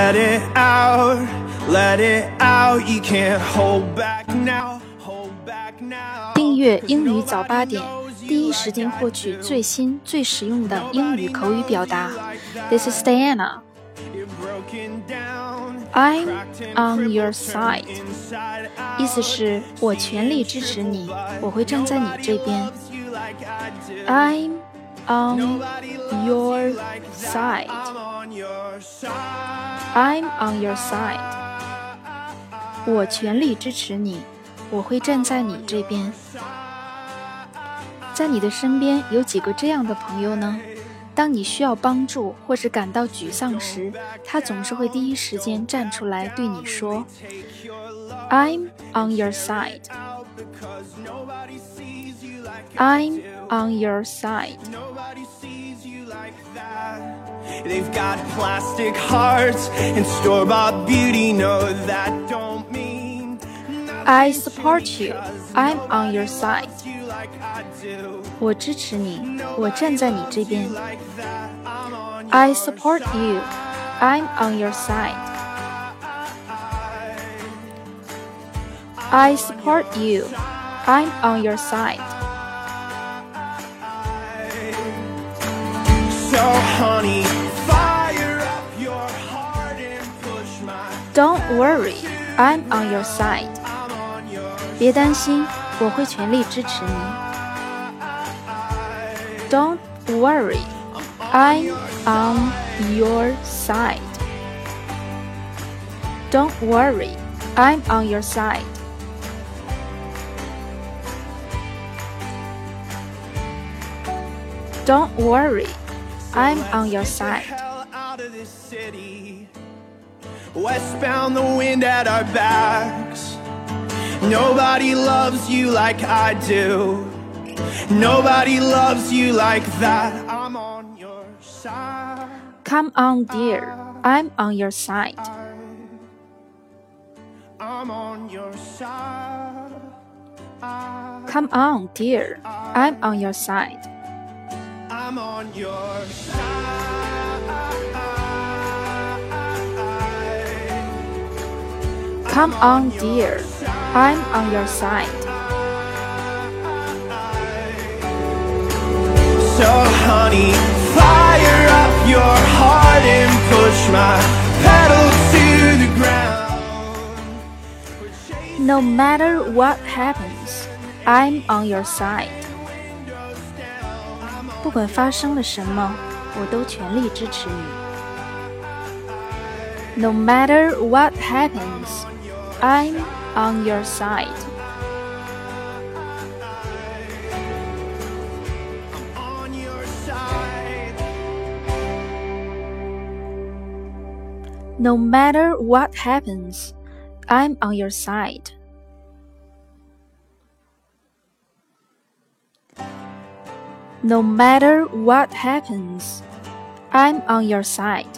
Let it out, let it out. You can't hold back now, hold back now. 订阅英语早8点，第一时间获取最新最实用的英语口语表达。This is Diana. I'm on your side. 意思是我全力支持你，我会站在你这边。I'm on your side. I'm on your side. 我全力支持你，我会站在你这边。在你的身边有几个这样的朋友呢？当你需要帮助或是感到沮丧时，他总是会第一时间站出来对你说 I'm on your side. I'm on your side. They've got plastic hearts and store-bought beauty. No, that don't mean I support you. I'm on your side. 我支持你，我站在你这边。I support you. I'm on your side. I support you. I'm on your side. So honey, fire up your heart and push my Don't worry. I'm on your side. 别担心，我会全力支持你。Don't worry. I'm on your side. Don't worry. I'm on your side. Don't worry. I'm on your side. out of this city. Westbound, the wind at our backs. Nobody loves you like I do. Nobody loves you like that. I'm on your side. Come on, dear. I'm on your side. I'm on your side. Come on, dear. I'm on your side. I'm on your side. Come on, dear. I'm on your side. So honey, fire up your heart and push my pedal to the ground. No matter what happens, I'm on your side. 不管发生了什么，我都全力支持你。No matter what happens, I'm on your side. On your side. No matter what happens, I'm on your side. No matter what happens, I'm on your side.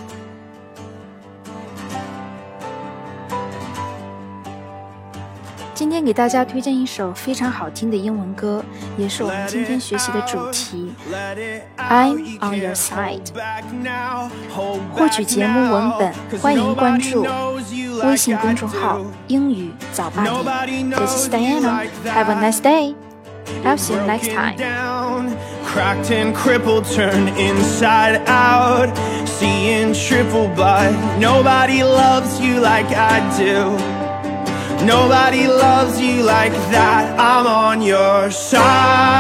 今天给大家推荐一首非常好听的英文歌，也是我们今天学习的主题 I'm on your side。 获取节目文本，欢迎关注微信公众号英语早8点。 This is Diana. Have a nice day. I'll see you next time. Cracked and crippled, turned inside out, seeing triple, but nobody loves you like I do. Nobody loves you like that. I'm on your side.